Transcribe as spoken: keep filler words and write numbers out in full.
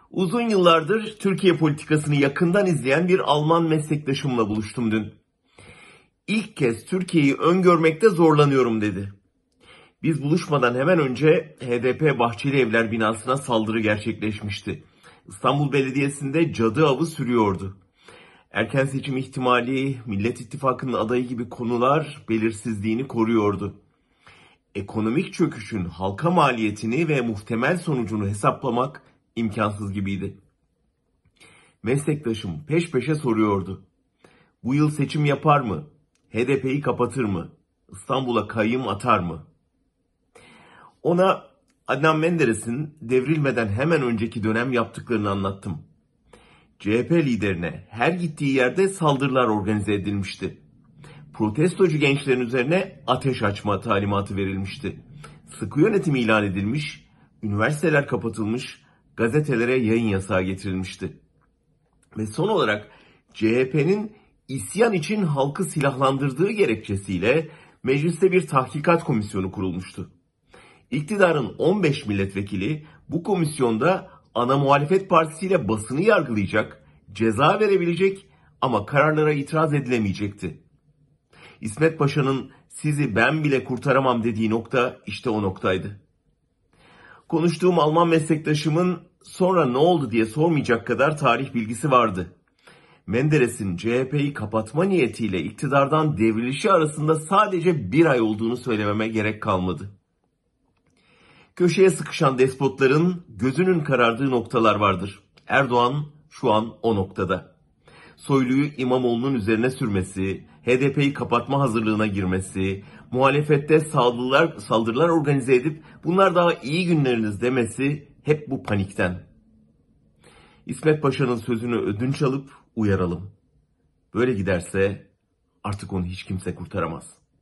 Uzun yıllardır Türkiye politikasını yakından izleyen bir Alman meslektaşımla buluştum dün. İlk kez Türkiye'yi öngörmekte zorlanıyorum dedi. Biz buluşmadan hemen önce H D P Bahçeli Evler binasına saldırı gerçekleşmişti. İstanbul Belediyesi'nde cadı avı sürüyordu. Erken seçim ihtimali, Millet İttifakı'nın adayı gibi konular belirsizliğini koruyordu. Ekonomik çöküşün halka maliyetini ve muhtemel sonucunu hesaplamak imkansız gibiydi. Meslektaşım peş peşe soruyordu. Bu yıl seçim yapar mı? H D P'yi kapatır mı? İstanbul'a kayyım atar mı? Ona Adnan Menderes'in devrilmeden hemen önceki dönem yaptıklarını anlattım. C H P liderine her gittiği yerde saldırılar organize edilmişti. Protestocu gençlerin üzerine ateş açma talimatı verilmişti. Sıkı yönetim ilan edilmiş, üniversiteler kapatılmış, gazetelere yayın yasağı getirilmişti. Ve son olarak C H P'nin isyan için halkı silahlandırdığı gerekçesiyle mecliste bir tahkikat komisyonu kurulmuştu. İktidarın on beş milletvekili bu komisyonda ana muhalefet partisiyle basını yargılayacak, ceza verebilecek ama kararlara itiraz edilemeyecekti. İsmet Paşa'nın sizi ben bile kurtaramam dediği nokta işte o noktaydı. Konuştuğum Alman meslektaşımın sonra ne oldu diye sormayacak kadar tarih bilgisi vardı. Menderes'in C H P'yi kapatma niyetiyle iktidardan devrilişi arasında sadece bir ay olduğunu söylememe gerek kalmadı. Köşeye sıkışan despotların gözünün karardığı noktalar vardır. Erdoğan şu an o noktada. Soylu'yu İmamoğlu'nun üzerine sürmesi, H D P'yi kapatma hazırlığına girmesi, muhalefette saldırılar, saldırılar organize edip bunlar daha iyi günleriniz demesi hep bu panikten. İsmet Paşa'nın sözünü ödünç alıp uyaralım. Böyle giderse artık onu hiç kimse kurtaramaz.